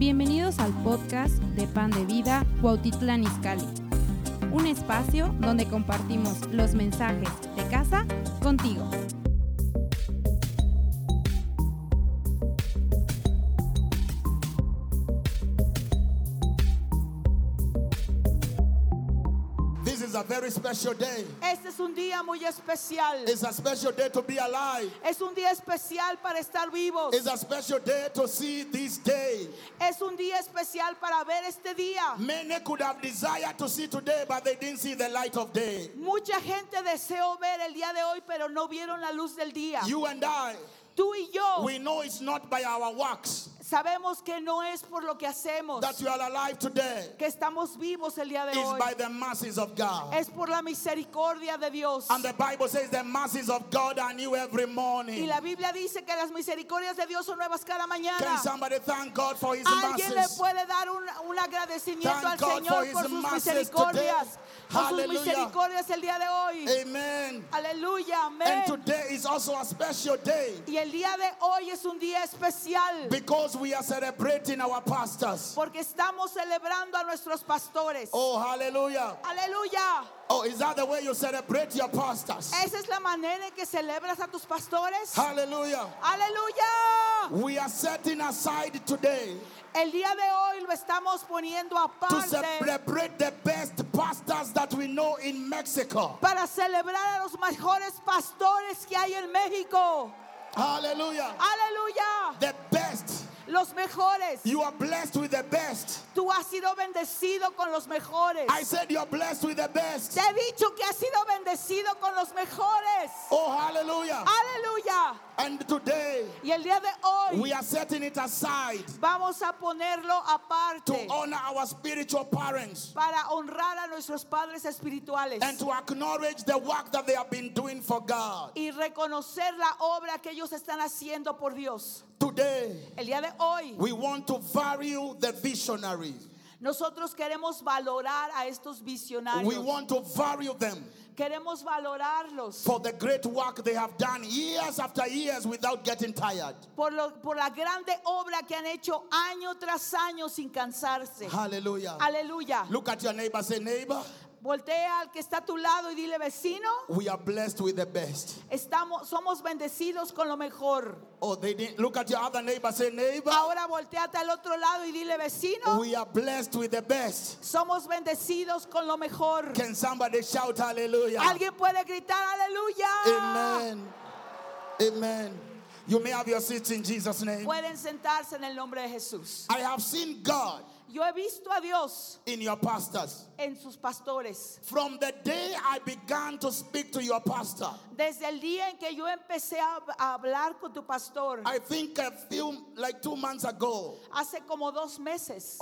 Bienvenidos al podcast de Pan de Vida Cuautitlán Izcalli, un espacio donde compartimos los mensajes de casa contigo. This is a very special day. Este es un día muy especial. It's a special day to be alive. Es un día especial para estar vivos. It's a special day to see this day. Es un día especial para ver este día. Many could have desired to see today, but they didn't see the light of day. Mucha gente deseó ver el día de hoy, pero no vieron la luz del día. You and I, Tú y yo we know it's not by our works sabemos que no es por lo que hacemos that you are alive today. que estamos vivos el día de It's hoy. by the mercies of God. Es por la misericordia de Dios. And the Bible says the mercies of God are new every Y morning. la Biblia dice que las misericordias de Dios son nuevas cada Can mañana. somebody thank God for His Alguien le mercies? puede dar un agradecimiento Thank al God Señor for His por sus mercies misericordias. today. Por sus Hallelujah. misericordias el día de hoy. Amen. Aleluya, And amén. today is also a special day Y el día de hoy es un día especial because we are celebrating our pastors. porque estamos celebrando a nuestros pastores. Oh, hallelujah. Aleluya. Oh, is that the way you celebrate your pastors? Esa es la manera en que celebras a tus pastores. Hallelujah. Aleluya. We are setting aside today El día de hoy lo estamos poniendo to aparte celebrate the best pastors that we know in Mexico. para celebrar a los mejores pastores que hay en México. Hallelujah. Aleluya. The best. Los mejores. You are blessed with the best. Tú has sido bendecido con los mejores. I said you are blessed with the best. Te he dicho que has sido bendecido con los mejores. Oh, hallelujah. Aleluya. And today Y el día de hoy we are setting it aside vamos a ponerlo to aparte honor our spiritual parents para honrar a nuestros padres espirituales and to acknowledge the work that they have been doing for God. y reconocer la obra que ellos están haciendo por Dios. Today, El día de hoy we want to value the visionaries. nosotros queremos valorar a estos We visionarios. want to value them Queremos valorarlos for the great work they have done years after years without getting tired. por la grande obra que han hecho año tras año sin cansarse. Hallelujah. Aleluya. Look at your neighbor, say, neighbor, Voltea al que está a tu lado y dile, vecino, we are blessed with the best. somos bendecidos con lo mejor. Oh, they didn't. Look at your other neighbor, say, neighbor, Ahora volteate al otro lado y dile, vecino, we are blessed with the best. somos bendecidos con lo mejor. Can somebody shout hallelujah? Alguien puede gritar aleluya. Amen. Amen. You may have your seats in Jesus' name. Pueden sentarse en el nombre de Jesús. I have seen God Yo he visto a Dios in your pastors. en sus pastores. From the day I began to speak to your pastor, Desde el día en que yo empecé a hablar con tu pastor, I think like 2 months ago, hace como 2 meses,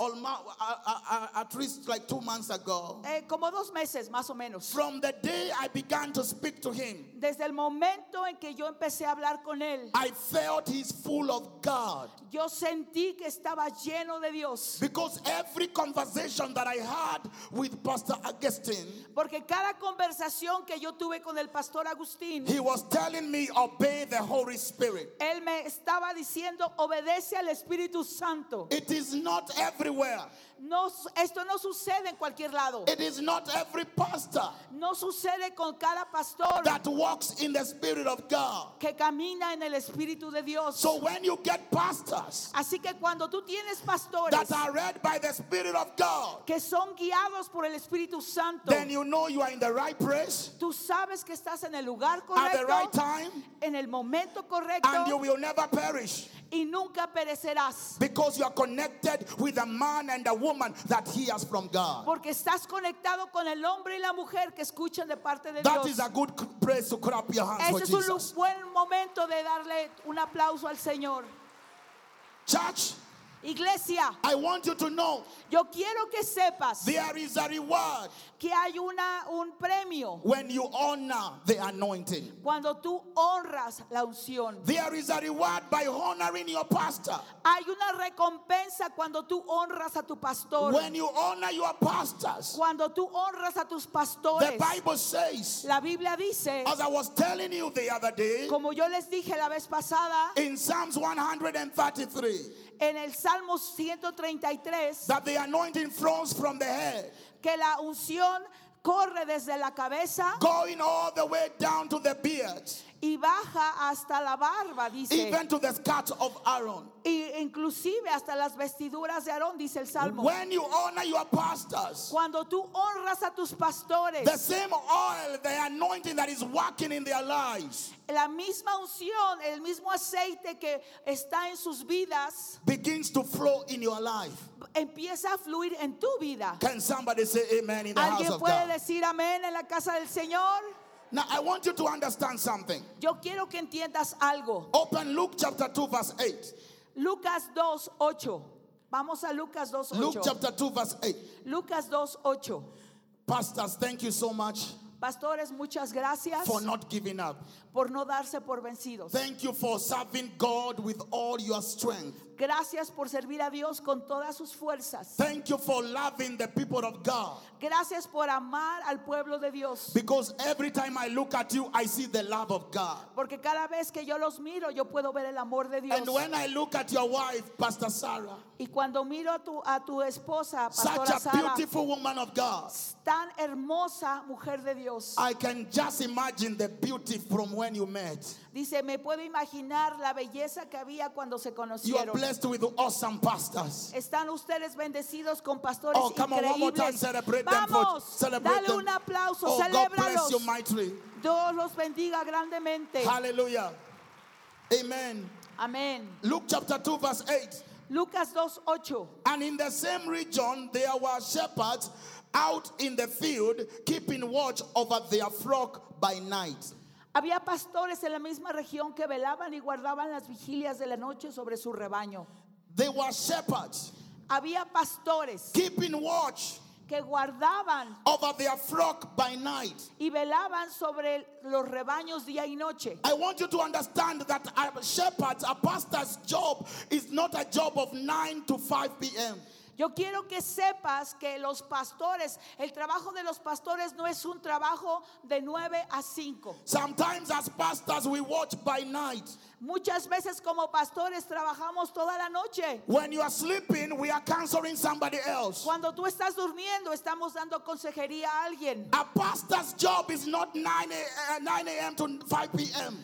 at least like 2 months ago, como 2 meses más o menos. from the day I began to speak to him, Desde el momento en que yo empecé a hablar con él, I felt he's full of God. yo sentí que estaba lleno de Dios. Because every conversation that I had with Pastor Augustine, Porque cada conversación que yo tuve con el pastor Agustín, he was telling me, obey the Holy Spirit. él me estaba diciendo, obedece al Espíritu Santo. It is not everywhere. No, esto no sucede en cualquier lado. It is not every pastor No sucede con cada pastor that walks in the Spirit of God. que camina en el Espíritu de Dios. So when you get pastors Así que cuando tú tienes pastores that are led by the Spirit of God, que son guiados por el Espíritu Santo, then you know you are in the right place tú sabes que estás en el lugar at the right correcto, time, en el momento and you correcto, will never perish y nunca perecerás. because you are connected with a man and a woman that hears from God. Porque estás conectado con el hombre y la mujer que escuchan de parte de That Dios. is a good place to clap your hands for Ese es un Jesus. buen momento de darle un aplauso al Señor. Church, Iglesia, I want you to know yo quiero que sepas there is a reward que hay un premio when you honor the anointing. cuando tú honras la unción. There is a reward by honoring your pastor. Hay una recompensa cuando tú honras a tu pastor. When you honor your pastors, Cuando tú honras a tus the pastores. Bible says, La Biblia dice, as I was telling you the other day, como yo les dije la vez pasada, in Psalms 133, En el Salmo 133, that the anointing flows from the head, que la unción corre desde la cabeza going all the way down to the beard, y baja hasta la barba, dice. even to the skirt of Aaron. Y inclusive hasta las vestiduras de Aarón, dice el Salmo. When you honor your pastors, Cuando tú honras a tus pastores, the same oil, the anointing that is working in their lives, la misma unción, el mismo aceite que está en sus vidas, begins to flow in your life. empieza a fluir en tu vida. Can somebody say amen in the house ¿Alguien of puede God? decir amén en la casa del Señor? Now I want you to understand something. Yo quiero que entiendas algo. Open Luke chapter 2 verse 8. Lucas 2:8. Vamos a Lucas Luke 2:8. chapter 2 verse 8. Lucas 2:8. Pastors, thank you so much Pastores, muchas gracias for not giving up. por no darse por vencidos. Thank you for serving God with all your strength. Gracias por servir a Dios con todas sus fuerzas. Thank you for loving the people of God. Gracias por amar al pueblo de Dios. Because every time I look at you, I see the love of God. Porque cada vez que yo los miro, yo puedo ver el amor de Dios. And when I look at your wife, Pastor Sarah, Y cuando miro a tu esposa, such Pastora a Sara, beautiful woman of God, tan hermosa mujer de Dios. I can just imagine the beauty from when you met. Dice, me puedo imaginar la belleza que había cuando se You are conocieron. blessed with awesome pastors. Están ustedes bendecidos con pastores Oh, come on, one more time, increíbles. celebrate them. Vamos, Celebrate dale them. un aplauso, Oh, God bless you celébralos. mightily. Dios los bendiga grandemente. Hallelujah. Amen. Amén. Luke chapter 2 verse 8. Lucas 2:8. And in the same region there were shepherds out in the field, keeping watch over their flock by night. Había pastores en la misma región que velaban y guardaban las vigilias de la noche sobre su rebaño. They were shepherds Había pastores keeping watch que guardaban over their flock by night. y velaban sobre los rebaños día y noche. I want you to understand that a shepherd's, a pastor's job is not a job of 9 to 5 p.m. Yo quiero que sepas que los pastores, el trabajo de los pastores no es un trabajo de 9 a 5. Sometimes as pastors we watch by night. Muchas veces como pastores trabajamos toda la noche. When you are sleeping, we are counseling somebody else. Cuando tú estás durmiendo, estamos dando consejería a alguien. A pastor's job is not 9 a.m. to 5 p.m.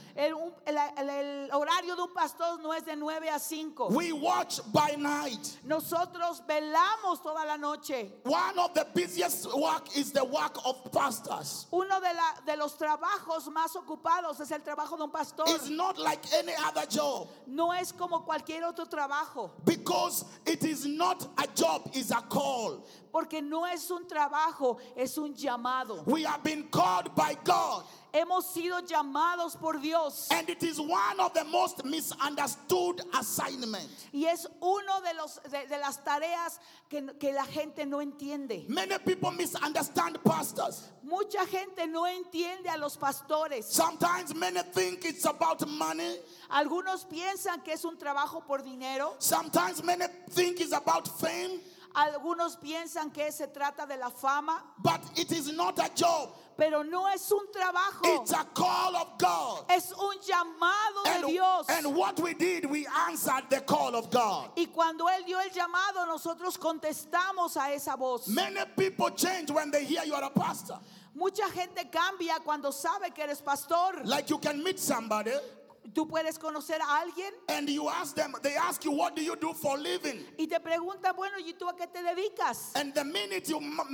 El horario de un pastor no es de 9 a 5. We watch by night. Nosotros velamos toda la noche. One of the busiest work is the work of pastors. Uno de los trabajos más ocupados es el trabajo de un pastor. It's not like any other job. No es como cualquier otro trabajo. Because it is not a job, it's a call. Porque no es un trabajo, es un llamado. We have been called by God. Hemos sido llamados por Dios. And it is one of the most misunderstood assignments. Y es uno de las tareas que la gente no entiende. Many people misunderstand pastors. Mucha gente no entiende a los pastores. Sometimes many think it's about money. Algunos piensan que es un trabajo por dinero. Sometimes many think it's about fame. Algunos piensan que se trata de la fama. But it is not a job. Pero no es un trabajo. It's a call of God. Es un llamado de Dios. And what we did, we answered the call of God. Y cuando Él dio el llamado, nosotros contestamos a esa voz. Many people change when they hear you are a pastor. Mucha gente cambia cuando sabe que eres pastor. Like you can meet somebody Tú puedes conocer a alguien and you ask them, they ask you, what do you do for a living? y te preguntan, bueno, ¿y tú a qué te dedicas? And the minute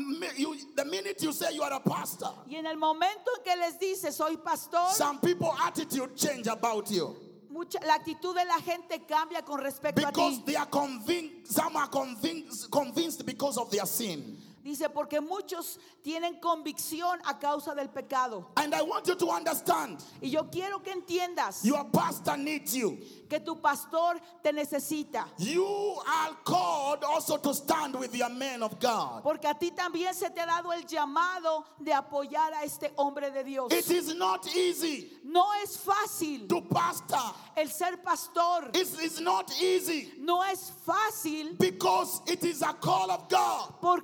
you say you are a pastor, Y en el momento en que les dices, soy pastor, some people attitude change about you. la actitud de la gente cambia con respecto a Because ti. they are convinced, some are convinced because of their sin. Dice, porque muchos tienen convicción a causa del pecado. And I want you to understand, Y yo quiero que entiendas your pastor needs you. que tu pastor te necesita. You are called also to stand with your men of God. Porque a ti también se te ha dado el llamado de apoyar a este hombre de Dios. It is not easy No es fácil to pastor. el ser pastor. It's not easy No es fácil because it is a call of God. porque es un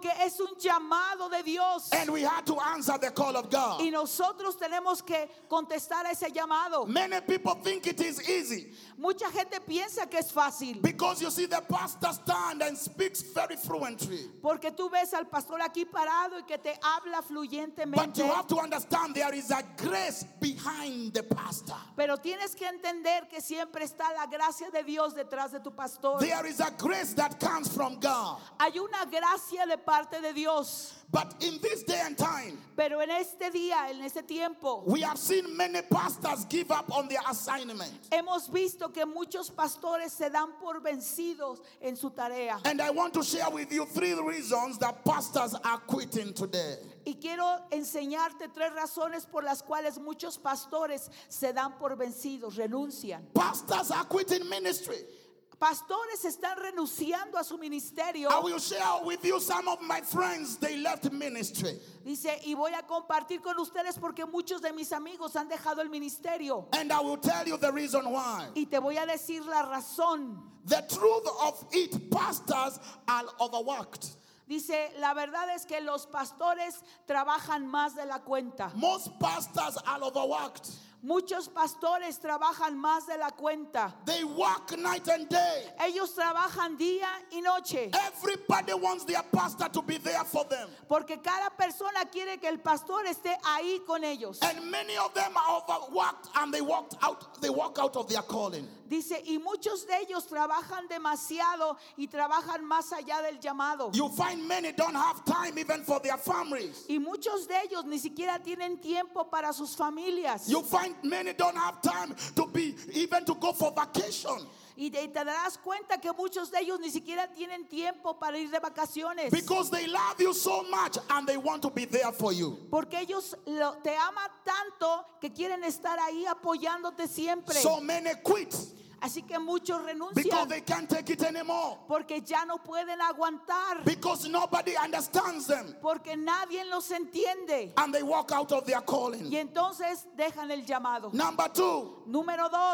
un llamado de Dios. And we had to answer the call of God. Y nosotros tenemos que contestar a ese llamado. Many people think it is easy Mucha gente piensa que es fácil. because you see the pastor stand and speaks very fluently. Porque tú ves al pastor aquí parado y que te habla But fluyentemente. you have to understand there is a grace behind the pastor. Pero tienes que entender que siempre está la gracia de Dios detrás de tu pastor. There is a grace that comes from God. Hay una gracia de parte de Dios. But in this day and time, Pero en este día, en este tiempo, we have seen many pastors give up on their assignment. hemos visto que muchos pastores se dan por vencidos en su tarea. And I want to share with you 3 reasons that pastors are quitting today. Y quiero enseñarte 3 razones por las cuales muchos pastores se dan por vencidos, renuncian. Pastors are quitting ministry. Pastores están renunciando a su ministerio. I will share with you some of my friends, they left ministry. Dice, y voy a compartir con ustedes porque muchos de mis amigos han dejado el ministerio. And I will tell you the reason why. Y te voy a decir la razón. The truth of it, pastors are overworked. Dice, la verdad es que los pastores trabajan más de la cuenta. Most pastors are overworked. Muchos pastores trabajan más de la cuenta. They work night and day. Ellos trabajan día y noche. Everybody wants their pastor to be there for them. Porque cada persona quiere que el pastor esté ahí con ellos. And many of them are overworked and they walk out of their calling. Dice, y muchos de ellos trabajan demasiado y trabajan más allá del llamado. You find many don't have time even for their families. Y muchos de ellos ni siquiera tienen tiempo para sus familias. You find many don't have time to be even to go for vacation. Y te darás cuenta que muchos de ellos ni siquiera tienen tiempo para ir de vacaciones. Because they love you so much and they want to be there for you. Porque ellos te aman tanto que quieren estar ahí apoyándote siempre. So many quit Así que muchos because renuncian they can't take it anymore. porque ya no pueden aguantar. Because nobody understands them. Porque nadie los entiende. And they walk out of their Y calling. entonces dejan el llamado. Number 2, Número 2.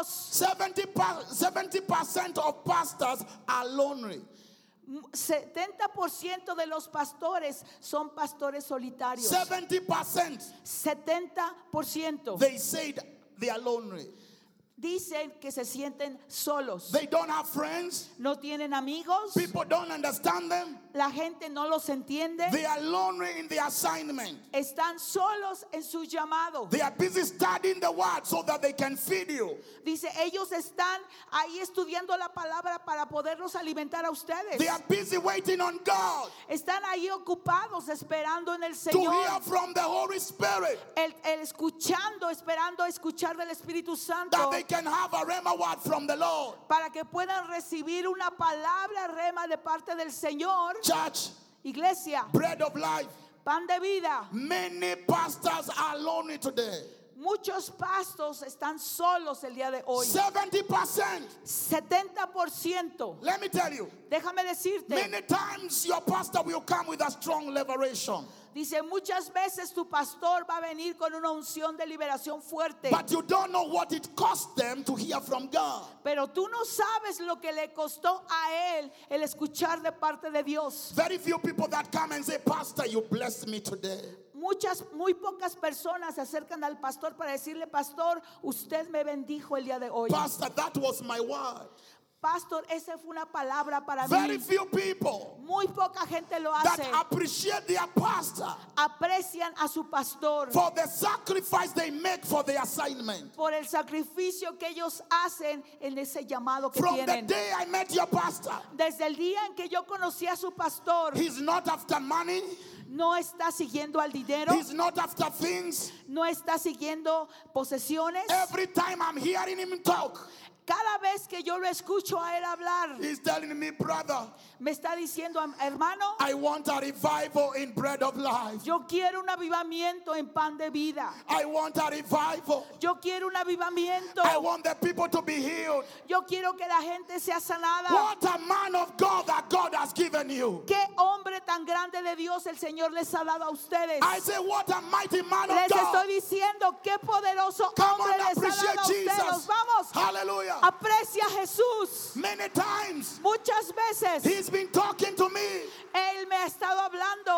70% of pastors are lonely. 70% de los pastores son pastores solitarios. 70%. 70%. They said they are lonely. Dicen que se sienten solos. They don't have friends. No tienen amigos. People don't understand them. La gente no los entiende. They are lonely in their assignment. Están solos en su llamado. They are busy studying the word so that they can feed you. Dice, ellos están ahí estudiando la palabra para poderlos alimentar a ustedes. They are busy waiting on God Están ahí ocupados esperando en el to hear Señor. from the Holy Spirit El escuchando, esperando escuchar del Espíritu Santo. that they can have a rhema word from the Lord. Para que puedan recibir una palabra rema de parte del Señor. Church, Iglesia, bread of life. pan de vida. Many pastors are lonely today. Muchos pastores están solos el día de hoy. 70%. 70%. Let me tell you, Déjame decirte. many times your pastor will come with a strong liberation. Dice, muchas veces tu pastor va a venir con una unción de liberación fuerte. But you don't know what it cost them to hear from God. Pero tú no sabes lo que le costó a él el escuchar de parte de Dios. Very few people that come and say, Pastor, you blessed me today. Muy pocas personas se acercan al pastor para decirle, pastor, usted me bendijo el día de hoy. Pastor, that was my word. Pastor, esa fue una palabra para Very mí. few people Muy poca gente lo that hace. appreciate their pastor Aprecian a su pastor for the sacrifice they make for the assignment. por el sacrificio que ellos hacen en ese llamado que From the tienen. day I met your pastor, Desde el día en que yo conocí a su pastor, he's not after money, no está siguiendo al dinero, he's not after things. no está siguiendo posesiones. Every time I'm hearing him talk, Cada vez que yo lo escucho a él hablar, he's telling me, brother, me está diciendo, hermano, I want a revival in bread of life. yo quiero un avivamiento en pan de vida. I want a revival. Yo quiero un avivamiento. I want the people to be healed. Yo quiero que la gente sea sanada. What a man of God that God has given you. Qué hombre tan grande de Dios el Señor les ha dado a ustedes. I say, what a mighty man of Les God. estoy diciendo qué poderoso Come hombre on, les ha appreciate dado a ustedes. Jesus. Vamos, Hallelujah. aprecia a Jesús. Many times Muchas veces he's been talking to me Él me ha estado hablando and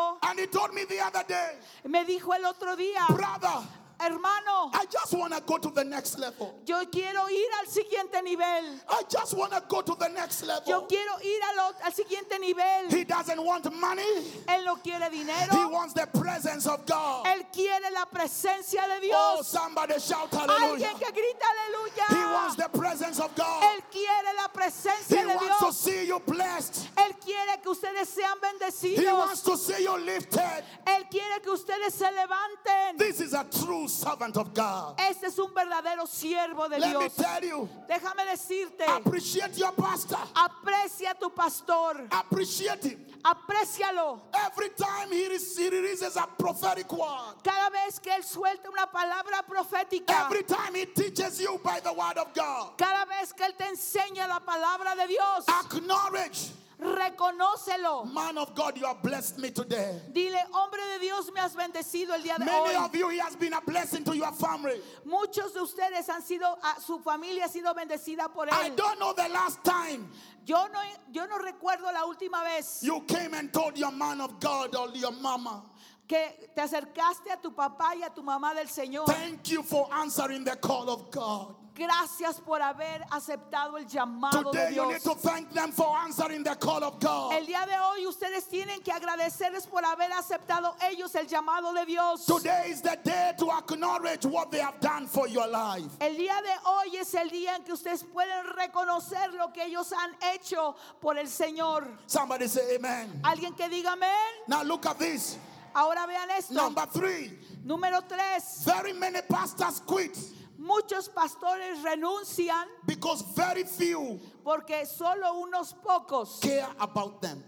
told me the other day, Me dijo el otro día, brother, hermano, I just want to go to the next level. yo quiero ir al siguiente nivel. I just want to go to the next Yo level. quiero ir al siguiente nivel. He doesn't want money. Él no quiere He dinero. wants the presence of God. Él quiere la presencia de Oh, Dios. somebody shout hallelujah. Alguien que grita aleluya. He wants the presence of God. Él quiere la presencia He de wants to Dios. see you blessed. Él quiere que ustedes sean He wants bendecidos. to see you lifted. Él quiere que ustedes se levanten. This is a true servant of God. Este es un verdadero siervo de Let me Dios. tell you, Déjame decirte, appreciate your pastor. aprecia a tu pastor. Appreciate him. Aprécialo. Every time he releases a prophetic word. Cada vez que él suelta una palabra profética. Every time he teaches you by the word of God. Cada vez que él te enseña la palabra de Dios. Acknowledge, Reconócelo. man of God, you have blessed me today. Dile, hombre de Dios, me has bendecido el día de Many hoy. of you, he has been a blessing to your family. Muchos de ustedes han sido, su familia ha sido bendecida por I él. don't know the last time Yo no recuerdo la última vez you came and told your man of God or your mama, que te acercaste a tu papá y a tu mamá del Señor. thank you for answering the call of God. Gracias por haber aceptado el llamado de Today you need Dios. to thank them for answering the call of God. El día de hoy ustedes tienen que agradecerles por haber aceptado ellos el llamado de Dios. Today is the day to acknowledge what they have done for your life. El día de hoy es el día en que ustedes pueden reconocer lo que ellos han hecho por el Señor. Somebody say amen. Alguien que diga amén. Now look at this. Ahora vean esto. Number 3. Número 3. Very many pastors quit Muchos pastores renuncian because very few porque solo unos pocos care about them.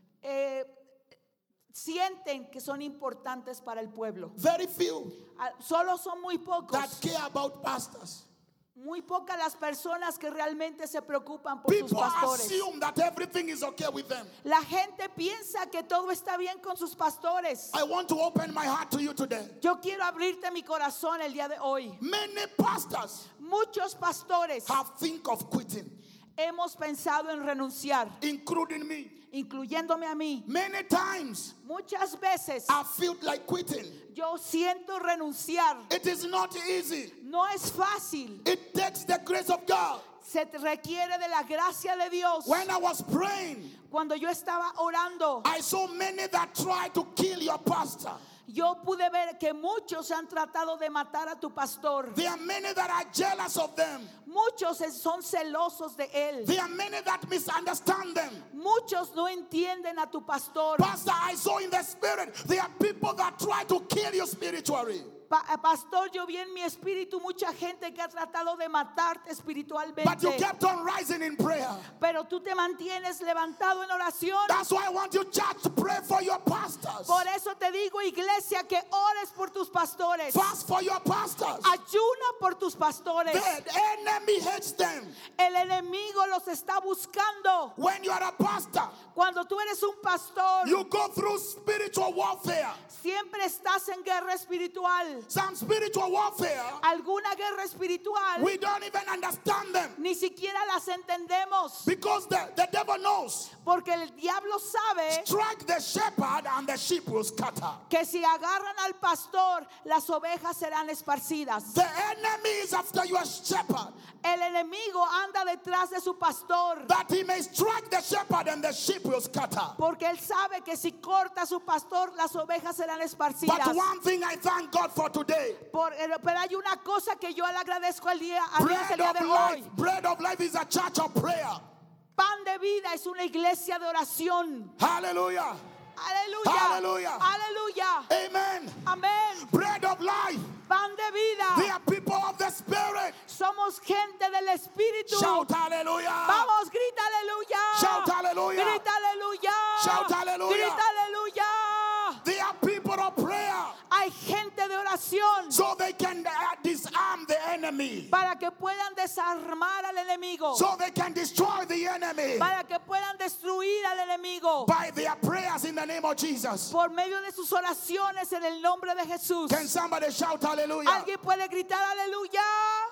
sienten que son importantes para el pueblo. Very few Solo son muy pocos. that care about pastors. Muy pocas las personas que realmente se preocupan por sus People pastores. assume that everything is okay with them. La gente piensa que todo está bien con sus pastores. I want to open my heart to you today. Yo quiero abrirte mi corazón el día de hoy. Many pastors Muchos pastores have think of quitting, hemos pensado en renunciar, including me. incluyéndome a mí. Many times Muchas veces I feel like quitting. yo siento renunciar. It is not easy. No es fácil. It takes the grace of God. Se requiere de la gracia de Dios. When I was praying, Cuando yo estaba orando, I saw many that tried to kill your pastor. yo pude ver que muchos han tratado de matar a tu pastor. There are many that are jealous of them. Muchos son celosos de él. There are many that misunderstand them. Muchos no entienden a tu pastor. Pastor, I saw in the spirit, there are people that try to kill you spiritually. Pastor, yo vi en mi espíritu mucha gente que ha tratado de matarte espiritualmente. But you kept on rising in prayer. Pero tú te mantienes levantado en oración. That's why I want you, church, to pray for your pastors. Por eso te digo, iglesia, que ores por tus pastores. Fast for your pastors. Ayuna por tus pastores. The enemy hates them. El enemigo los está buscando. When you are a pastor, Cuando tú eres un pastor, you go through spiritual warfare. siempre estás en guerra espiritual. Some spiritual warfare, Alguna guerra espiritual, we don't even understand them. ni siquiera las entendemos. Because the devil knows. Porque el diablo sabe Strike the shepherd and the sheep will scatter. que si agarran al pastor, las ovejas serán esparcidas. The enemy is after your shepherd, El enemigo anda detrás de su pastor, that he may strike the shepherd and the sheep will scatter. porque él sabe que si corta a su pastor, las ovejas serán esparcidas. But one thing I thank God for today, Pero hay una cosa que yo le agradezco a Dios el bread día of de life. hoy. Bread of life is a church of prayer. Pan de vida es una iglesia de oración. Hallelujah. Aleluya. Hallelujah. Aleluya. Amen. Amén. Bread of life. Pan de vida. They are people of the spirit. Somos gente del Espíritu. Shout hallelujah. Vamos, grita aleluya. Shout hallelujah. Grita aleluya. Shout hallelujah. Grita aleluya. They are people of prayer. Hay gente de oración So they can disarm the enemy. para que puedan desarmar al enemigo. So they can destroy the enemy Para que puedan destruir al enemigo. by their prayers in the name of Jesus. Por medio de sus oraciones en el nombre de Jesús. Can somebody shout hallelujah? ¿Alguien puede gritar aleluya?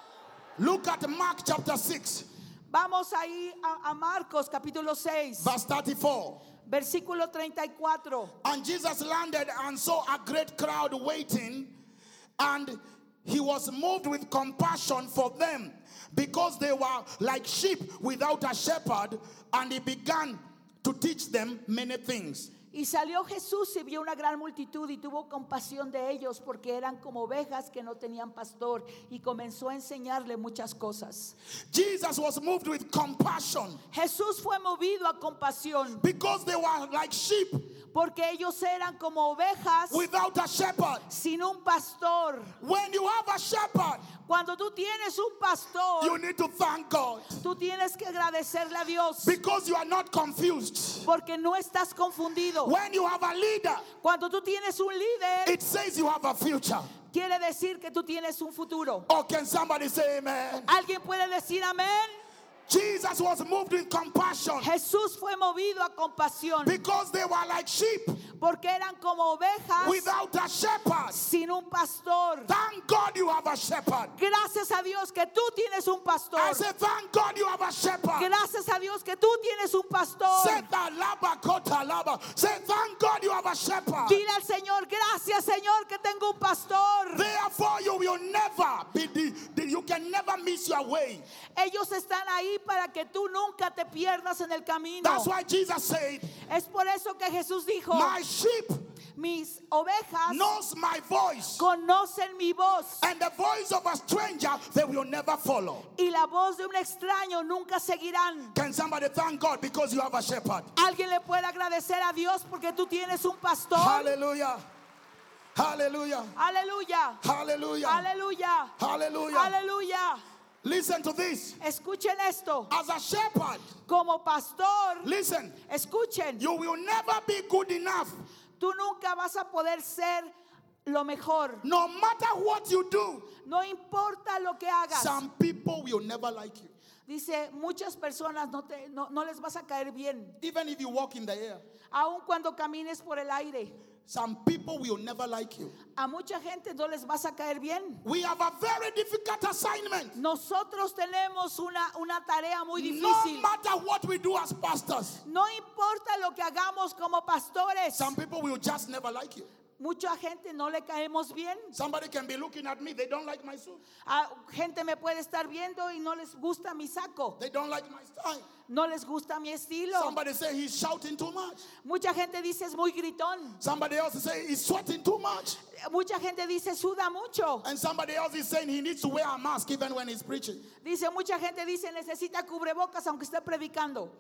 Look at Mark chapter 6, Vamos ahí a Marcos capítulo 6, verse 34. Versículo 34. And Jesus landed and saw a great crowd waiting, and he was moved with compassion for them, because they were like sheep without a shepherd, and he began to teach them many things. Y salió Jesús y vio una gran multitud y tuvo compasión de ellos porque eran como ovejas que no tenían pastor, y comenzó a enseñarle muchas cosas. Jesus was moved with compassion Jesús fue movido a compasión because they were like sheep porque ellos eran como ovejas without a shepherd. sin un pastor. When you have a shepherd, Cuando tú tienes un pastor, you need to thank God tú tienes que agradecerle a Dios because you are not confused. porque no estás confundido. When you have a leader, Cuando tú tienes un líder, it says you have a future. quiere decir que tú tienes un futuro. Or can somebody say amen? ¿Alguien puede decir amén? Jesus was moved with compassion Jesús fue movido a compasión because they were like sheep porque eran como ovejas without a shepherd. sin un pastor. Thank God you have a shepherd. Gracias a Dios que tú tienes un pastor. I say thank God you have a shepherd. Gracias a Dios que tú tienes un pastor. Say that laba kota laba. Say thank God you have a shepherd. Dile al Señor, gracias Señor que tengo un pastor. Therefore you will never be you can never miss your way. Ellos están ahí para que tú nunca te pierdas en el camino. That's why Jesus said, Es por eso que Jesús dijo, my sheep mis ovejas knows my voice, conocen mi voz, and the voice of a stranger they will never follow. y la voz de un extraño nunca seguirán. Can somebody thank God because you have a shepherd? Alguien le puede agradecer a Dios porque tú tienes un pastor. Hallelujah. Hallelujah. Aleluya. Hallelujah. Aleluya. Hallelujah. Aleluya. Listen to this. Escuchen esto. As a shepherd, Como pastor, listen, escuchen. you will never be good enough. Tú nunca vas a poder ser lo mejor. No matter what you do, No importa lo que hagas. some people will never like you. Dice, muchas personas no les vas a caer bien. Even if you walk in the air, Aun cuando camines por el aire. some people will never like you. A mucha gente no les vas a caer bien. We have a very difficult assignment. Nosotros tenemos una tarea muy No difícil. matter what we do as pastors, No importa lo que hagamos como pastores. some people will just never like you. Mucha gente no le caemos bien. Somebody can be looking at me, they don't like my suit. Gente me puede estar viendo y no les gusta mi saco. They don't like my style. No les gusta mi estilo. Somebody say he's shouting too much. Mucha gente dice es muy gritón. Somebody else is saying he's sweating too much. Mucha gente dice suda mucho. And somebody else is saying he needs to wear a mask even when he's preaching. Dice mucha gente dice necesita cubrebocas aunque esté predicando.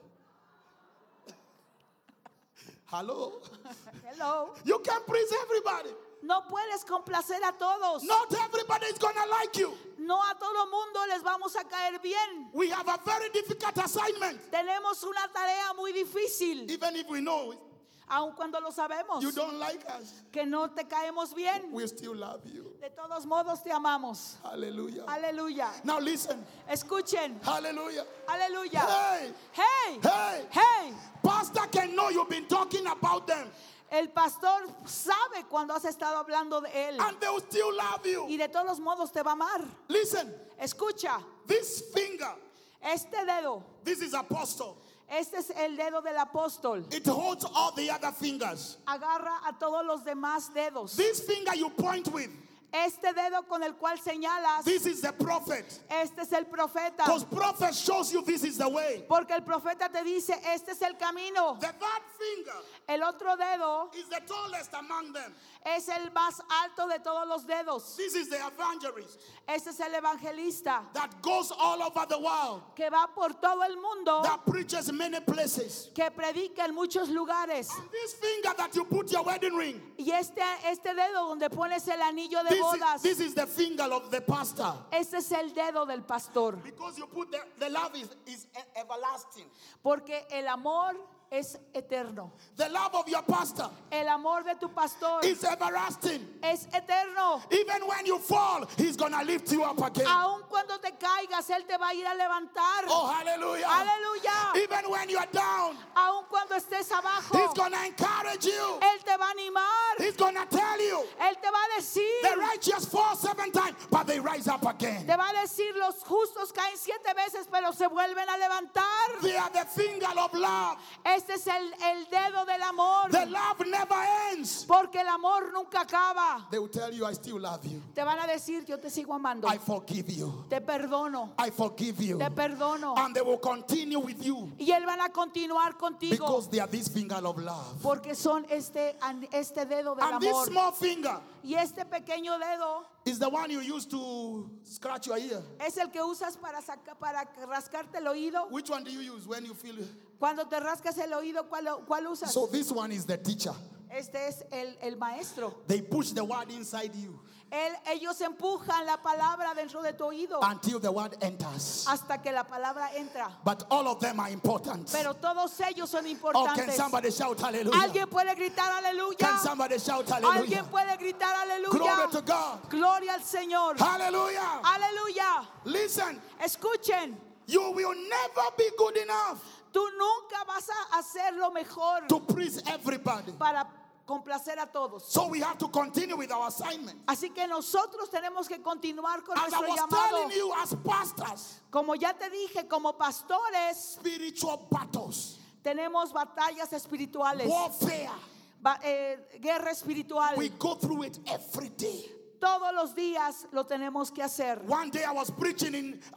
Hello? Hello. You can please everybody. No puedes complacer a todos. Not everybody is going to like you. No a todo mundo les vamos a caer bien. We have a very difficult assignment. Tenemos una tarea muy difícil. Even if we know Aun cuando lo sabemos. you don't like us, Que no te caemos bien. we still love you. De todos modos te amamos. Hallelujah. Aleluya. Now listen. Escuchen. Hallelujah. Aleluya. Hey, Hey. hey. Hey. Pastor can know you've been talking about them, El pastor sabe cuando has estado hablando de él. and they will still love Y you. de todos modos te va a amar. Listen, Escucha. this finger, Este dedo. this is apostle. Este es el dedo del apóstol. It holds all the other fingers. Agarra a todos los demás dedos. This finger you point with, Este dedo con el cual señalas. this is the prophet. Este es el profeta. Because prophet shows you this is the way. Porque el profeta te dice, este es el camino. The third finger El otro dedo is the tallest among them. es el más alto de todos los dedos. This is the evangelist Este es el evangelista that goes all over the world, que va por todo el mundo, that preaches many places. que predica en muchos lugares. And this finger that you put your wedding ring, Y este dedo donde pones el anillo de bodas, this is the finger of the pastor. este es el dedo del pastor. Because you put the love is everlasting. Porque el amor es eterno. The love of your pastor El amor de tu pastor is everlasting. es eterno. Even when you fall, he's going to lift you up again. Aun cuando te caigas, Él te va a ir a levantar. Oh, hallelujah. Aleluya. Even when you're down, Aun cuando estés abajo, he's going to encourage you. Él te va a animar. He's going to tell you, Él te va a decir, the righteous fall 7 times, but they rise up again. Te va a decir, los justos caen 7 veces, pero se vuelven a levantar. They are the finger of love. Este es el dedo del amor. The love never ends. Porque el amor nunca acaba. They will tell you, I still love you. Te van a decir, yo te sigo amando. I forgive you. Te perdono. I forgive you. Te perdono. And they will continue with you Y él van a continuar contigo. because they are this finger of love. Porque son este dedo del And this amor. small finger Y este pequeño dedo is the one you use to scratch your ear. es el que usas para rascarte el oído. Which one do you use when you feel? Cuando te rascas el oído, ¿cuál usas? So this one is the teacher. Este es el maestro. They push the word inside you Ellos empujan la palabra dentro de tu oído until the word enters. hasta que la palabra entra. But all of them are important. Pero todos ellos son Oh, can importantes. somebody shout hallelujah? ¿Alguien puede gritar Can aleluya? somebody shout ¿Alguien hallelujah? puede gritar aleluya? Glory to God. Gloria al Señor. Hallelujah. Aleluya. Listen, Escuchen, you will never be good enough tú nunca vas a hacer lo mejor to please everybody. para complacer a todos. So we have to continue with our assignment. Así que nosotros tenemos que continuar con As I nuestro was llamado. telling you, as pastors, Como ya te dije, como pastores spiritual battles, tenemos batallas espirituales, warfare, guerra espiritual. we go through it every day. Todos los días lo tenemos que hacer. One day I was preaching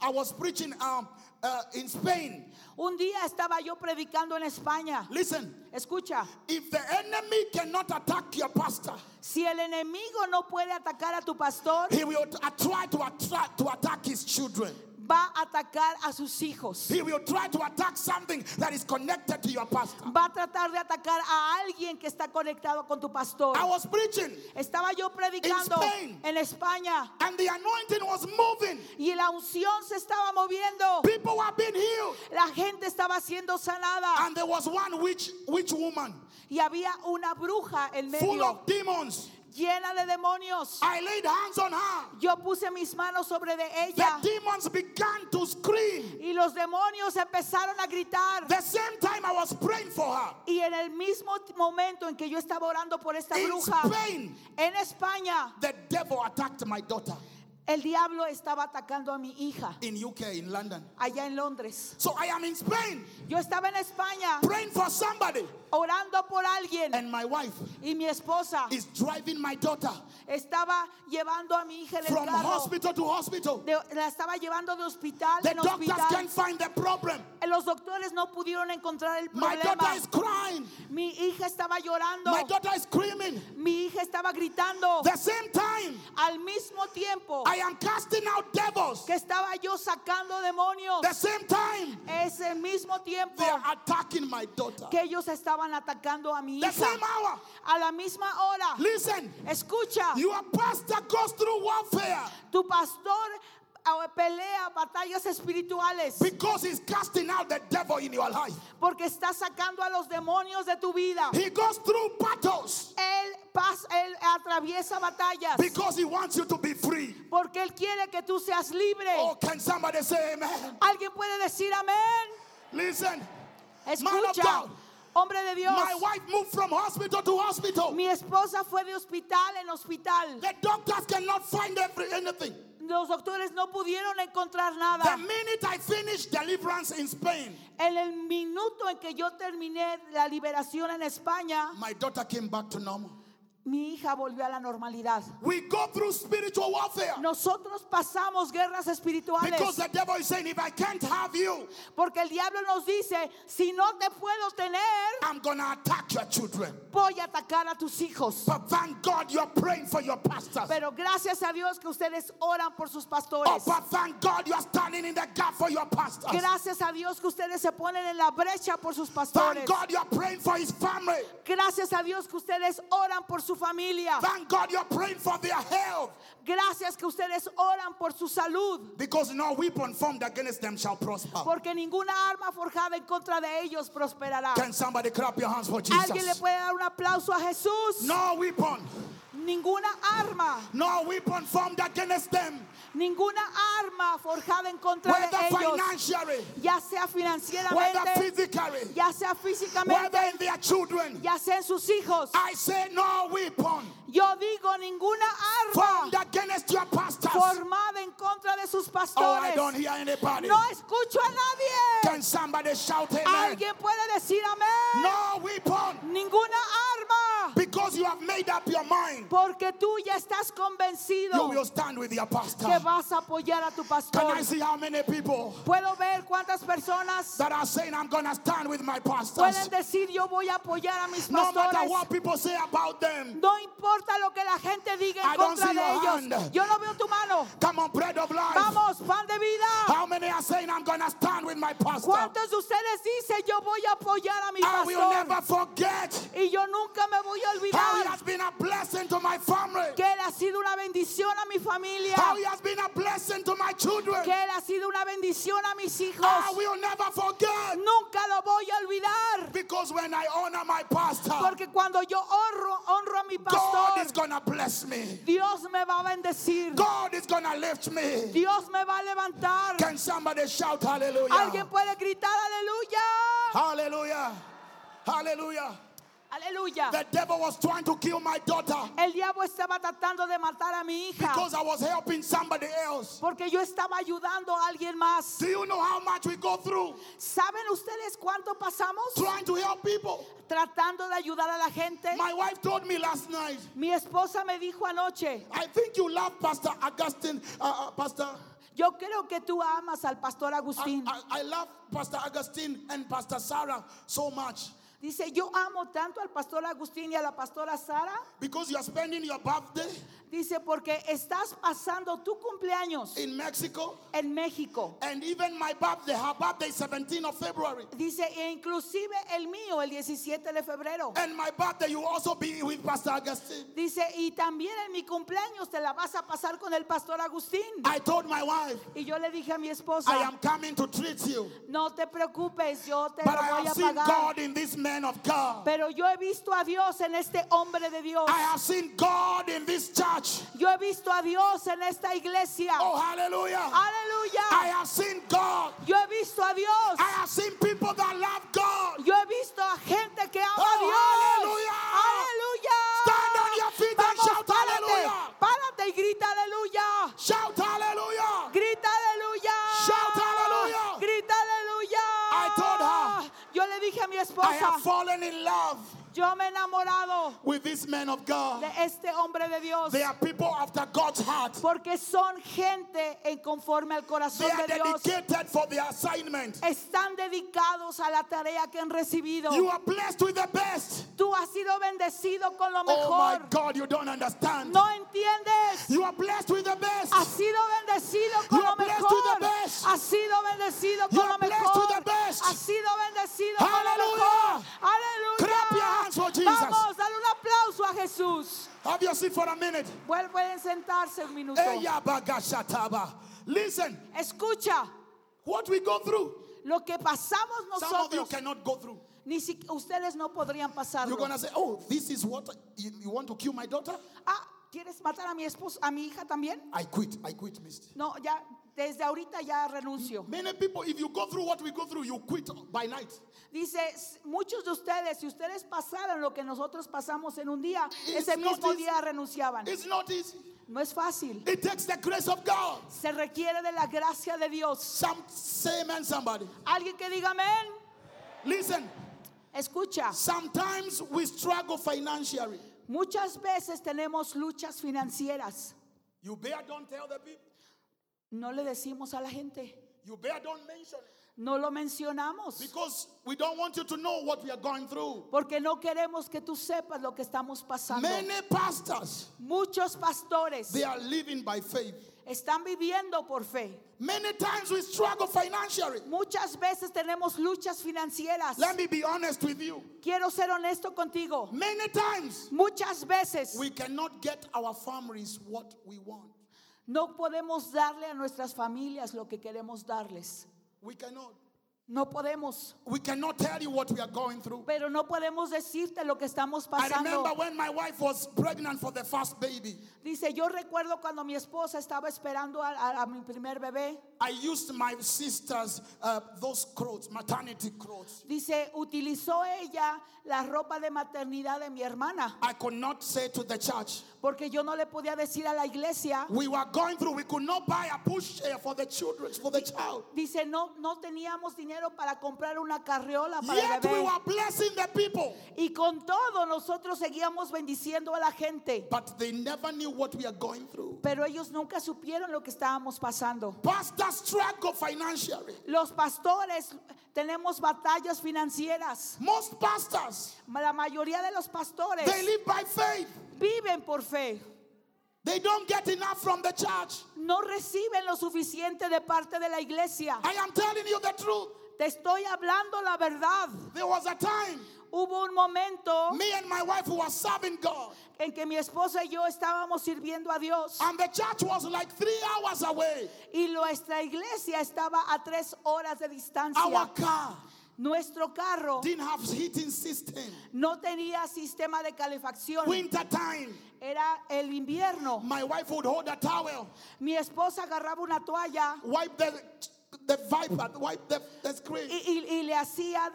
in Spain. Un día estaba yo predicando en España. Listen, Escucha, if the enemy cannot attack your pastor, si el enemigo no puede atacar a tu pastor, he will try to attack his children. va a atacar a sus hijos. He will try to attack something that is connected to your pastor. Va a tratar de atacar a alguien que está conectado con tu pastor. I was preaching Estaba yo predicando In Spain. en España and the anointing was moving. y la unción se estaba moviendo. People were being healed. La gente estaba siendo sanada And there was one witch woman y había una bruja en full medio of demons. llena de demonios. I laid hands on her. Yo puse mis manos sobre de The ella demons began to scream. y los demonios empezaron a gritar. The same time I was praying for her. Y en el mismo momento en que yo estaba orando por esta In bruja, Spain, en España, the devil attacked my daughter el diablo estaba atacando a mi hija in UK, in London. allá en Londres. So I am in Spain Yo estaba en España praying for somebody, orando por alguien and my wife y mi esposa is driving my daughter estaba llevando a mi hija en el from carro. hospital to hospital. La estaba llevando de hospital The en doctors hospital. can't find the problem. Los doctores no pudieron encontrar el My problema. daughter is crying. Mi hija estaba llorando. My daughter is screaming. Mi hija estaba gritando. The same time, Al mismo tiempo I am casting out devils. que estaba yo sacando demonios. The same time, Ese mismo tiempo they are attacking my daughter. que ellos estaban atacando a mi The hija. same hour. A la misma hora. Listen, Escucha, your pastor goes through warfare tu pastor pelea batallas espirituales because he's casting out the devil in your life. porque está sacando a los demonios de tu vida. He goes through battles Él atraviesa batallas because he wants you to be free. porque Él quiere que tú seas libre. Oh, can somebody say amen? ¿Alguien puede decir amén? Listen, man of Escucha, God, hombre de Dios. my wife moved from hospital to hospital. Mi esposa fue de hospital en hospital. The doctors cannot find anything. Los doctores no pudieron encontrar The nada. minute I finished deliverance in Spain, En el minuto en que yo terminé la liberación en España, my daughter came back to normal. mi hija volvió a la normalidad. We go through spiritual warfare Nosotros pasamos guerras espirituales because the devil is saying, if I can't have you, porque el diablo nos dice, si no te puedo tener, I'm going to attack your children. voy a atacar a tus hijos. But thank God you're praying for your pastors. Pero gracias a Dios que ustedes oran por sus Oh, pastores. but thank God you're standing in the gap for your pastors. Gracias a Dios que ustedes se ponen en la brecha por sus Thank pastores. God you're praying for his family. Gracias a Dios que ustedes oran por su familia. Thank God you're praying for their health. Gracias que ustedes oran por su salud. Because no weapon formed against them shall prosper. Porque ninguna arma forjada en contra de ellos prosperará. Can somebody clap your hands for ¿Alguien le Jesus? puede dar un aplauso a Jesús? No weapon Ninguna arma, no weapon formed against them, ninguna arma forjada en contra whether de ellos, financially, ya sea whether financieramente, physically, ya sea whether físicamente, in their children. ya sea en sus hijos. I say no weapon Yo digo ninguna formed arma against your pastors. formada en contra de sus Oh, I pastores. don't hear anybody. No escucho a nadie. Can somebody shout amen? Alguien puede decir amén. No weapon, Ninguna arma. because you have made up your mind. Porque tú ya estás You convencido will stand with your pastor. que vas a apoyar a tu Can pastor. I see how many people Puedo ver cuántas personas that are saying I'm going to stand with my pastors? pueden decir yo voy a apoyar a mis No matter pastores. what people say about them. No importa lo que la gente diga I en don't contra see de your ellos. hand. Yo no veo tu mano. Come on, bread of life. Vamos, pan de vida. How many are saying I'm going to stand with my pastor? ¿Cuántos de ustedes dicen yo voy a apoyar a mi I will pastor? never forget Y yo nunca me voy a how he olvidar has been a blessing to my family. que él ha sido una bendición a mi familia. How he has been a blessing to my children. Que él ha sido una bendición a mis hijos. I will never forget. Nunca lo voy a olvidar. Because when I honor my pastor, Porque cuando yo honro a mi God pastor, is going to bless me. Dios me va a bendecir. God is going to lift me. Dios me va a levantar. Can somebody shout hallelujah? Alguien puede gritar aleluya. Hallelujah. Hallelujah. Aleluya. The devil was trying to kill my daughter El diablo estaba tratando de matar a mi hija because I was helping somebody else. porque yo estaba ayudando a alguien más. Do you know how much we go through ¿Saben ustedes cuánto pasamos trying to help people? tratando de ayudar a la gente? My wife told me last night, Mi esposa me dijo anoche, I think you love Pastor Augustine, Pastor. yo creo que tú amas al pastor Agustín. I love Pastor Augustine and Pastor Sarah so much Dice, yo amo tanto al pastor Agustín y a la pastora Sara. because you are spending your birthday Dice, porque estás pasando tu cumpleaños in Mexico, en México. and even my birthday, her birthday is 17th of February. Dice, e inclusive el mío, el 17 de febrero. And my birthday, you also be with Pastor Augustine. Dice, y también en mi cumpleaños te la vas a pasar con el pastor Agustín. I told my wife, Y yo le dije a mi esposa, I am coming to treat you. no te preocupes, yo te But lo I voy have a seen pagar. God in this man of God. Pero yo he visto a Dios en este hombre de Dios. I have seen God in this church. Yo he visto a Dios en esta iglesia. Oh, hallelujah. Aleluya. I have seen God. Yo he visto a Dios. I have seen people that love God. Yo he visto a gente que ama a Oh, Dios. hallelujah. Aleluya. Stand on your feet and Vamos, shout párate. hallelujah. Párate y grita aleluya. Shout hallelujah. Grita aleluya. Shout hallelujah. Grita aleluya. I told her, Yo le dije a mi I esposa, have fallen in love yo me he enamorado with this man of God. de este hombre de Dios. They are people after God's heart. Porque son gente en conforme al They corazón are de Dios. dedicated for their assignment. Están dedicados a la tarea que han recibido. You are blessed with the best. Tú has sido bendecido con lo Oh my mejor. God, you don't understand. No entiendes. You are blessed with the best. Has sido bendecido con You lo are blessed with the mejor. best. Has sido bendecido You con are lo blessed mejor. with the best. Has sido bendecido con lo Hallelujah. mejor. Aleluya. Clap your hands for Jesus. Vamos, dale un aplauso a Jesús. Have your seat for a minute. Pueden sentarse un minuto. Eya bagashataba. Listen, Escucha what we go through, lo que pasamos some of you nosotros. cannot go through. Ni si ustedes no podrían You're pasarlo. going to say, oh, this is what, you want to kill my daughter? Ah, ¿quieres matar a mi esposa, a mi hija también? I quit, mister. No, ya desde ahorita ya renuncio. Many people, if you go through what we go through, you quit by night. Dice, muchos de ustedes, si ustedes pasaran lo que nosotros pasamos en un día, It's ese not mismo easy. día renunciaban. It's not easy. No es fácil. It takes the grace of God. Se requiere de la gracia de Dios. Say amen, somebody. Alguien que diga amén. Listen, Escucha, sometimes we struggle financially. muchas veces tenemos luchas financieras. You better don't tell the people. No le decimos a la gente. You better don't mention it. No lo mencionamos. Because we don't want you to know what we are going through. Porque no queremos que tú sepas lo que estamos pasando. Many pastors, Muchos pastores they are living by faith. están viviendo por fe. Many times we struggle financially. Muchas veces tenemos luchas financieras. Let me be honest with you. Quiero ser honesto contigo. Many times Muchas veces we cannot get our families what we want. no podemos darle a nuestras familias lo que queremos darles. We cannot. No podemos, We cannot tell you what we are going through. pero no podemos decirte lo que estamos I remember pasando. when my wife was pregnant for the first baby. Dice, yo recuerdo cuando mi esposa estaba esperando a mi primer bebé. I used my sister's those clothes, maternity clothes. Dice, utilizó ella la ropa de maternidad de mi hermana, I could not say to the church. porque yo no le podía decir a la iglesia. We were going through, we could not buy a pushchair for the children, for the child. Dice, no teníamos dinero para comprar una carriola para el Yet we bebé. were blessing the people. Y con todo nosotros seguíamos bendiciendo a la gente. But they never knew what we are going through. Pero ellos nunca supieron lo que estábamos pasando. Pastors struggle financially. Los pastores tenemos batallas financieras. Most pastors, La mayoría de los pastores they live by faith. viven por fe. They don't get enough from the church. No reciben lo suficiente de parte de la iglesia. I am telling you the truth. Te estoy hablando la verdad. There was a time, Hubo un momento me and my wife were serving God, en que mi esposa y yo estábamos sirviendo a Dios. and the church was like 3 hours away. Y nuestra iglesia estaba a 3 horas de distancia. Our car Nuestro carro didn't have heating system. no tenía sistema de calefacción. Winter time, Era el invierno. my wife would hold a towel, Mi esposa agarraba una toalla wipe the viper, wipe the screen. y le hacía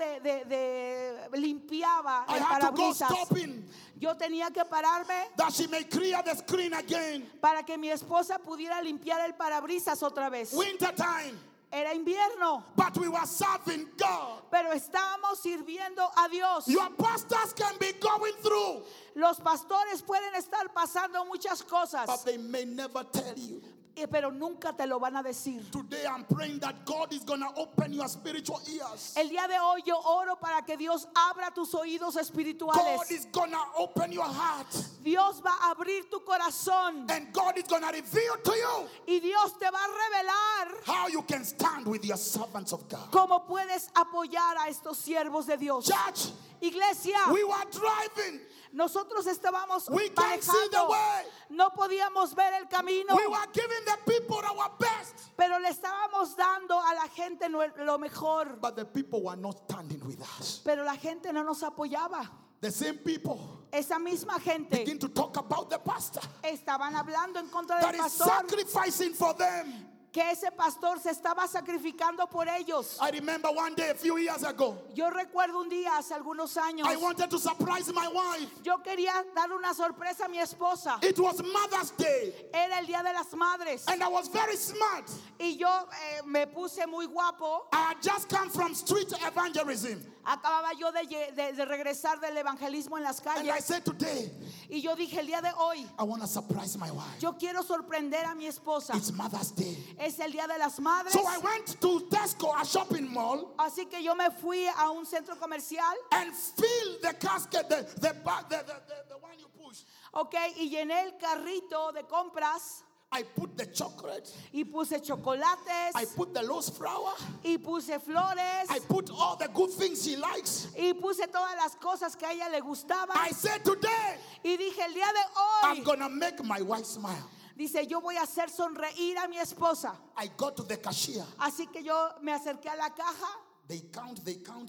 limpiaba I el had to go parabrisas. stopping Yo tenía que pararme that she may clear the screen again. para que mi esposa pudiera limpiar el parabrisas otra vez. Winter time, Era invierno, but we were serving God. pero estábamos sirviendo a Dios. Your pastors can be going through, Los pastores pueden estar pasando muchas but cosas, they may never tell you. pero nunca te lo van a decir. Today I'm praying that God is going to open your spiritual ears. El día de hoy yo oro para que Dios abra tus oídos God espirituales. is going to open your heart, Dios va a abrir tu corazón and God is going to reveal to you y Dios te va a revelar how you can stand with your servants of God. cómo puedes apoyar a estos siervos de Dios. Church, Iglesia, we were driving. nosotros estábamos We can't see the manejando. way. No podíamos ver el camino, We were giving the people our best, pero le estábamos dando a la gente lo mejor. but the people were not standing with us. Pero la gente no nos apoyaba. The same people Esa misma gente begin to talk about the pastor estaban hablando en contra that del is pastor, sacrificing for them. que ese pastor se estaba sacrificando por ellos. I remember one day a few years ago, Yo recuerdo un día hace algunos años, I wanted to surprise my wife. yo quería dar una sorpresa a mi esposa. It was Mother's Day, Era el Día de las Madres and I was very smart. y yo me puse muy guapo. I had just come from street evangelism, Acababa yo de regresar del evangelismo en las and I calles said today, y yo dije, el día de hoy I want to surprise my wife. yo quiero sorprender a mi esposa. It's Mother's Day. Es el Día de las Madres. So I went to Tesco, a shopping mall, Así que yo me fui a un centro comercial, and filled the casket, the one you push. ok, y llené el carrito de compras I put the chocolate, y puse chocolates I put the loose flour, y puse flores I put all the good things she likes. y puse todas las cosas que a ella le gustaban. I said today, Y dije, el día de I'm hoy, gonna make my wife smile. dice, yo voy a hacer sonreír a mi esposa. I got to the cashier. Así que yo me acerqué a la caja They count.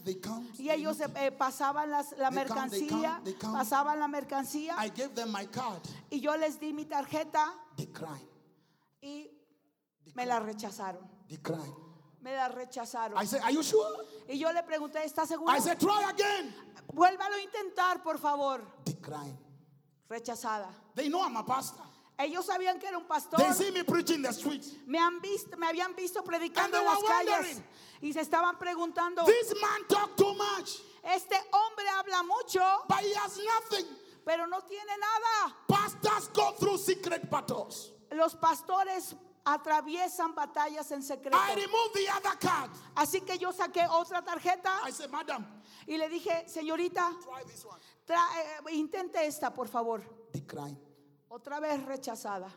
y ellos pasaban la mercancía, they count. pasaban la mercancía I gave them my card. y yo les di mi tarjeta Decline. y me la rechazaron. Decline. Me la rechazaron. I said, are you sure? Y yo le pregunté, ¿estás seguro? I said, try again. Vuélvalo a intentar, por favor. Decline. Rechazada. They know I'm a pastor. Ellos sabían que era un pastor. They see me preaching in the streets. Me habían visto predicando And they en las were calles. wondering, Y se estaban preguntando, This man talk too much, este hombre habla mucho, but he has nothing. pero no tiene nada. Pastors go through secret battles. Los pastores atraviesan batallas en secreto. I removed the other card. Así que yo saqué otra tarjeta I said, madam, y le dije, señorita, try this one. intente esta, por favor. Decline. Otra vez rechazada.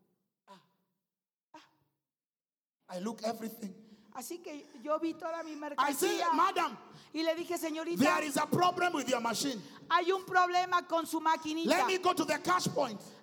I look everything. Así que yo vi toda mi I said, mercancía madam, y le dije, señorita, there is a problem with your machine. hay un problema con su maquinita. Let me go to the cash point.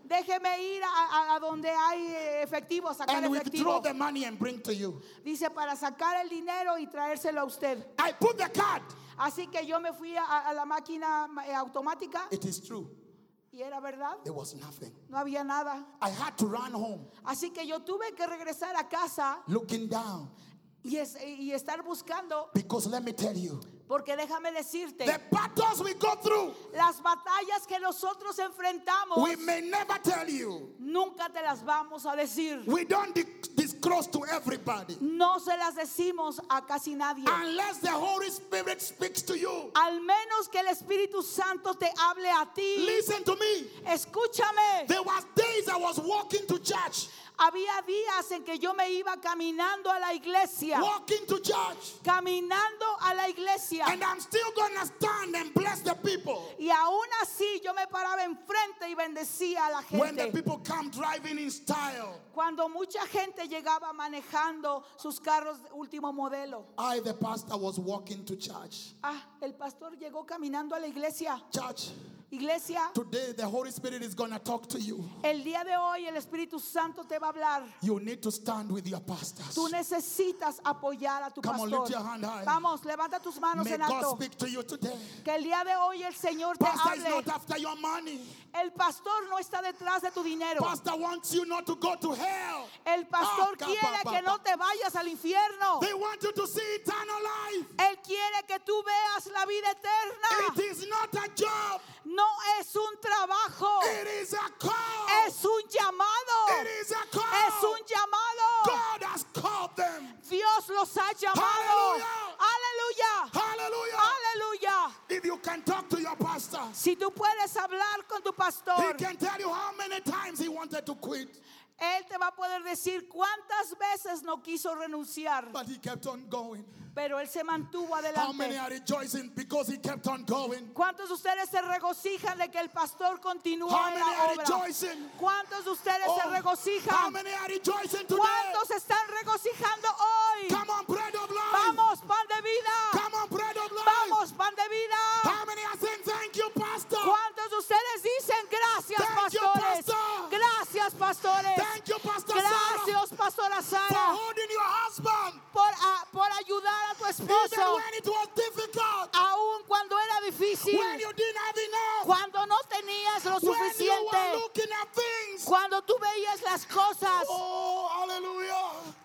Déjeme ir a donde hay efectivo, a sacar and withdraw efectivo. the money and bring to you. Dice, para sacar el dinero y traérselo a usted. I put the card. Así que yo me fui a la máquina automática It is true. y era verdad, There was nothing. no había nada. I had to run home Así que yo tuve que regresar a casa looking down. y estar buscando, Because let me tell you, porque déjame decirte, the battles we go through, las batallas que nosotros enfrentamos, we may never tell you. nunca te las vamos a decir. We don't disclose to everybody. No se las decimos a casi nadie. Unless the Holy Spirit speaks to you. Al menos que el Espíritu Santo te hable a ti. Listen to me. Escúchame. There was days I was walking to church. Había días en que yo me iba caminando a la iglesia. Walking to church. Caminando a la iglesia. And I'm still going to stand and bless the people. Y aún así yo me paraba enfrente y bendecía a la When the gente. people come driving in style, Cuando mucha gente llegaba manejando sus carros de último modelo. I, the pastor, was walking to church. El pastor llegó caminando a la iglesia. Church, Iglesia, today the Holy Spirit is going to talk to you. el día de hoy el Espíritu Santo te va a hablar. You need to stand with your pastors. Tú necesitas apoyar a tu Come on, pastor. lift your hand high. Vamos, levanta tus manos May en God alto. speak to you today. Que el día de hoy el Señor te Pastor is hable. not after your money. El pastor no está detrás de tu dinero. Pastor wants you not to go to hell. El pastor Ah, quiere que no te vayas al infierno. They want you to see eternal life. Él quiere que tú veas la vida eterna. It is not a job. No es un trabajo. It is a call. Es un llamado. It is a call. Es un llamado. God has called them. Dios los ha llamado. Aleluya. Hallelujah. Aleluya. If you can talk to your pastor, Si tú puedes hablar con tu pastor, he can tell you how many times he wanted to quit, él te va a poder decir cuántas veces no quiso renunciar, but he kept on going. pero él se mantuvo How many adelante. are rejoicing because he kept on going? ¿Cuántos de ustedes se regocijan de que el pastor continuó How en many la are obra? rejoicing? ¿Cuántos de ustedes se How regocijan? many are rejoicing today? ¿Cuántos se están regocijando hoy? Come on, bread of life. Vamos, pan de vida. Come on, bread of life. Vamos, pan de vida. How many are saying thank you, pastor? ¿Cuántos de ustedes dicen gracias, Thank you, pastores? pastor. Gracias, pastores. Thank you, Pastor Sarah, Gracias, pastora for Sara, holding your husband por ayudar a tu even esposo, when it was difficult, aún cuando era difícil, when you didn't have enough, cuando no tenías lo when you were suficiente, looking at things. cuando tú veías las cosas. Oh, hallelujah.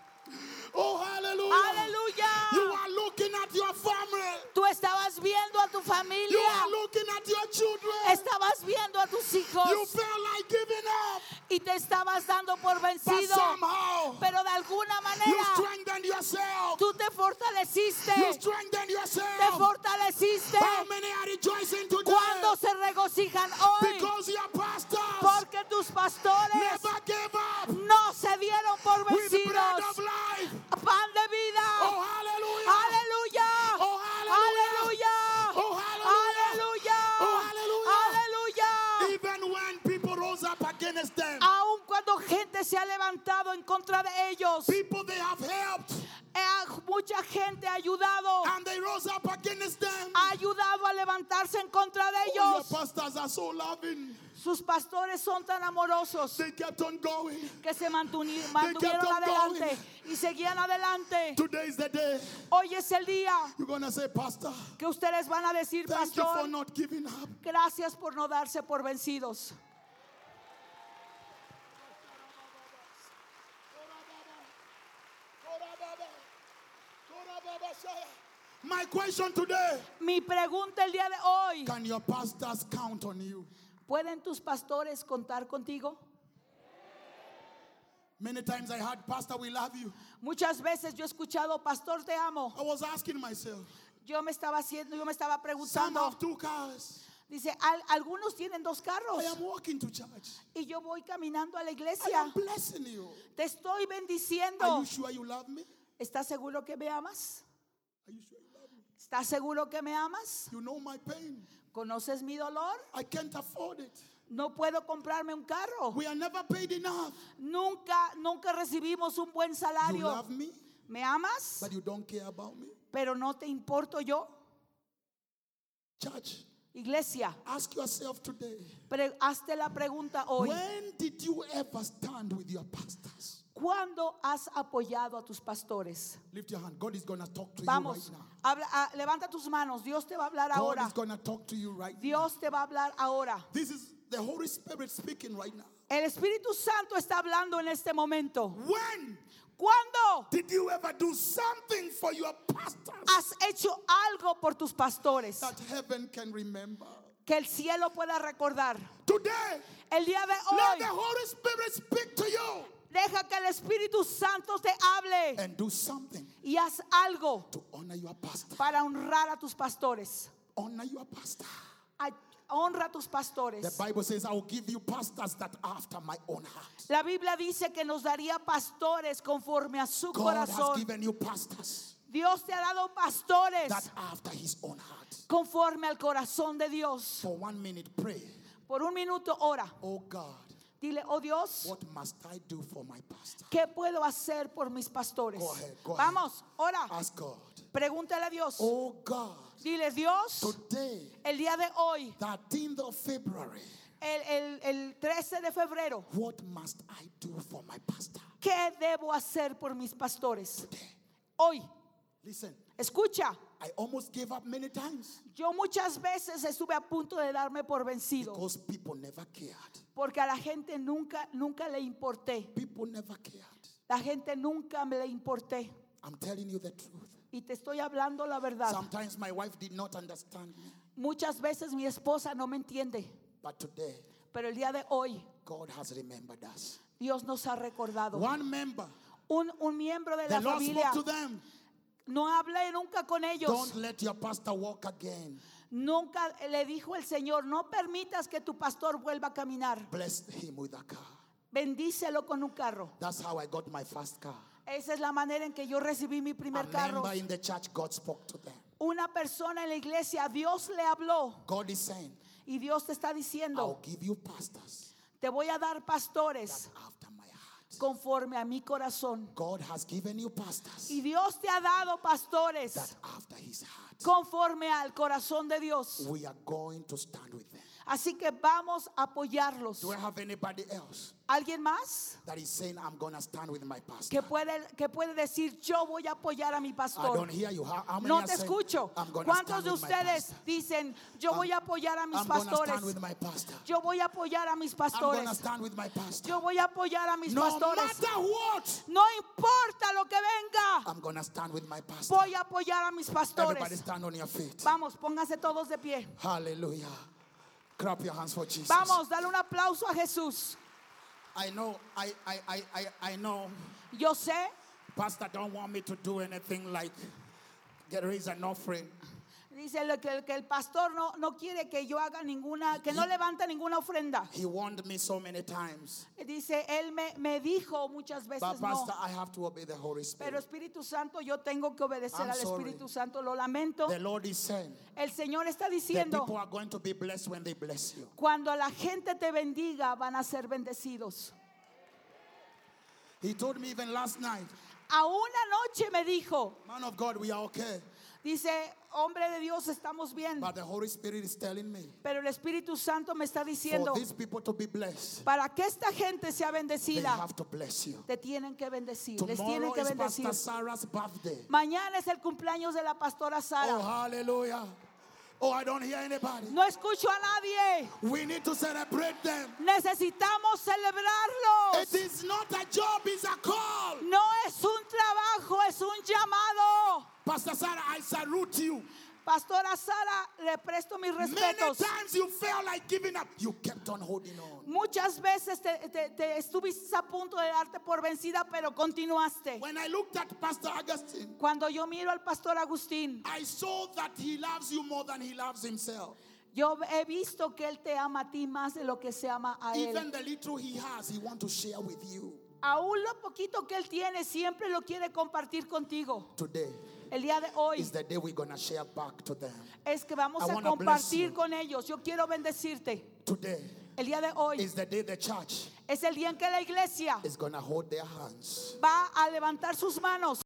Oh, hallelujah. Aleluya. You are looking at your family. Tú estabas viendo a tu You familia, are looking at your children. estabas viendo a tus You hijos felt like giving up, y te estabas dando por but vencido, somehow pero de alguna you manera strengthened yourself. tú te fortaleciste, You strengthened te yourself. fortaleciste. How many are rejoicing today? ¿Cuántos se regocijan hoy? Because your pastors Porque tus pastores never gave up no se dieron por with bread vencidos. of life. Pan de vida. Oh, hallelujah. Aleluya. Oh, hallelujah. Aleluya. Oh, hallelujah. Aleluya. Oh, hallelujah. Aleluya. Even when people rose up against them, Aun cuando gente se ha levantado en contra de ellos, people they have helped, mucha gente ha ayudado. and they rose up against them. Ha ayudado a levantarse en contra de Oh, your ellos. pastors are so loving. Sus pastores son tan amorosos They kept on going. que se mantuvieron kept on adelante going. y seguían adelante. Today is the day Hoy es el día you're going to say, Pastor, que ustedes van a decir, thank you for pastor, not giving up. gracias por no darse por vencidos. My question today, Mi pregunta el día de hoy, can your pastors count on you? ¿pueden tus pastores contar contigo? Many times I heard, Pastor, we love you. Muchas veces yo he escuchado, pastor, te amo. I was asking myself, Yo me estaba some preguntando, have 2 cars. dice, algunos tienen 2 carros I am walking to church. y yo voy caminando a la I iglesia. am blessing you. Te estoy Are bendiciendo. you sure you love me? ¿Estás seguro que me amas? Are you sure you love me? ¿Estás seguro que me amas? You know my pain. ¿Conoces mi dolor? I can't afford it. No puedo comprarme un carro. We are never paid enough. Nunca recibimos un buen You salario. love me, ¿Me amas? but you don't care about me. Pero no te importo yo. Church, Iglesia, Ask yourself today, hazte la pregunta hoy. when did you ever stand with your pastors? ¿Cuándo has apoyado a tus pastores? Lift your hand. God is going to talk to Vamos, you right now. levanta tus manos. Dios te va a hablar God ahora. is going to talk to you right now. Dios te va a hablar ahora. This is the Holy Spirit speaking right now. El Espíritu Santo está hablando en este momento. When ¿Cuándo did you ever do something for your pastors has hecho algo por tus pastores that heaven can remember? que el cielo pueda recordar? Today, El día de let the hoy, Holy Spirit speak to you deja que el Espíritu Santo te hable and do something y haz algo to honor your pastor. para honrar a tus pastores. Honor your pastor. Honra a tus The pastores. Bible says, I will give you pastors that are after my own heart. La Biblia dice que nos daría pastores conforme a su God has corazón. given you pastors Dios te ha dado pastores that are after his own heart. conforme al corazón de Dios. For 1 minute, pray. Por un minuto ora. Oh God, Dile, oh Dios, what must I do for my pastor? ¿qué puedo hacer por mis pastores? Go ahead, go Vamos, ora. Ask God. Pregúntale a Dios. Oh God, Dile, Dios, today, el día de hoy, 13th of February, el 13 de febrero, what must I do for my pastor? ¿qué debo hacer por mis pastores? Today. Hoy, Listen, escucha. I almost gave up many times Yo muchas veces estuve a punto de darme por vencido because people never cared. porque a la gente nunca le importé. People never cared. La gente nunca me le importé. I'm telling you the truth. Y te estoy hablando la verdad. Sometimes my wife did not understand me, Muchas veces mi esposa no me entiende, but today pero el día de hoy God has remembered us. Dios nos ha recordado. One member, Un miembro de the la Lord familia, spoke to them. no hablé nunca con ellos. Don't let your pastor walk again. Nunca le dijo el Señor, no permitas que tu pastor vuelva a caminar. Bless him with a car. Bendícelo con un carro. That's how I got my first car. Esa es la manera en que yo recibí mi A primer carro. member in the church, God spoke to them. Una persona en la iglesia, Dios le habló God is saying, y Dios te está I'll diciendo, give you pastors te voy a dar pastores after my heart. conforme a mi corazón. God has given you pastors Y Dios te ha dado pastores that after his heart. conforme al corazón de Dios. We are going to stand with them. Así que vamos a apoyarlos. Do I have anybody else ¿Alguien más that is saying, I'm going to stand with my pastor? que puede decir, yo voy a apoyar a mi I pastor? don't hear you. How many No are te saying, escucho. I'm going to ¿Cuántos stand de with my ustedes pastor? dicen, yo voy a apoyar a mis I'm going to pastores? stand with my pastor. Yo voy a apoyar a mis I'm going to pastores. stand with my pastor. Yo voy a apoyar a mis No pastores. matter what, No importa lo que venga, I'm going to stand with my pastor. voy a apoyar a mis Everybody pastores. stand on your feet. Vamos, pónganse todos de pie. Hallelujah. Clap your hands for Jesus. Vamos, dale un aplauso a Jesús. I know, I know, Yo sé, Pastor don't want me to do anything like raise an offering. dice que el pastor no quiere que yo haga ninguna, que no levante ninguna ofrenda. He warned me so many times. Dice, él me dijo muchas But veces Pastor, no. I have to obey the Holy Pero Spirit. Espíritu Santo, yo tengo que obedecer I'm al sorry. Espíritu Santo. Lo lamento. The Lord is saying El Señor está that diciendo, people are going to be blessed when they bless you. cuando la gente te bendiga, van a ser bendecidos. He told me even last night, Aún anoche me dijo, man of God, we are okay. dice, hombre de Dios, estamos bien. But the Holy Spirit is telling me, Pero el Espíritu Santo me está for diciendo, these people to be blessed, para que esta gente sea they bendecida, have to bless you. te tienen que bendecir. Les tienen Tomorrow que is bendecir. Pastor Sarah's birthday. Mañana es el cumpleaños de la pastora Oh, Sara. hallelujah. Oh, I don't hear anybody. No escucho a nadie. We need to celebrate them. Necesitamos celebrarlos. It is not a job, it's a call. No es un trabajo, es un llamado. Pastor Sarah, I salute you. Pastora Sara, le presto mis Many respetos. times you felt like giving up. You kept on holding on. Muchas veces te estuviste a punto de darte por vencida, pero continuaste. When I looked at Pastor Augustine, Cuando yo miro al pastor Agustín, I saw that he loves you more than he loves himself. yo he visto que él te ama a ti más de lo que se ama a él. Even the little he has, he wants to share with you. Aún lo poquito que él tiene, siempre lo quiere compartir contigo. Today El día de hoy is the day we're going to share back to them. es que vamos I a wanna bless compartir you. con ellos. Yo quiero bendecirte. Today El día de hoy is the day the church es el día en que la iglesia is going to hold their hands va a levantar sus manos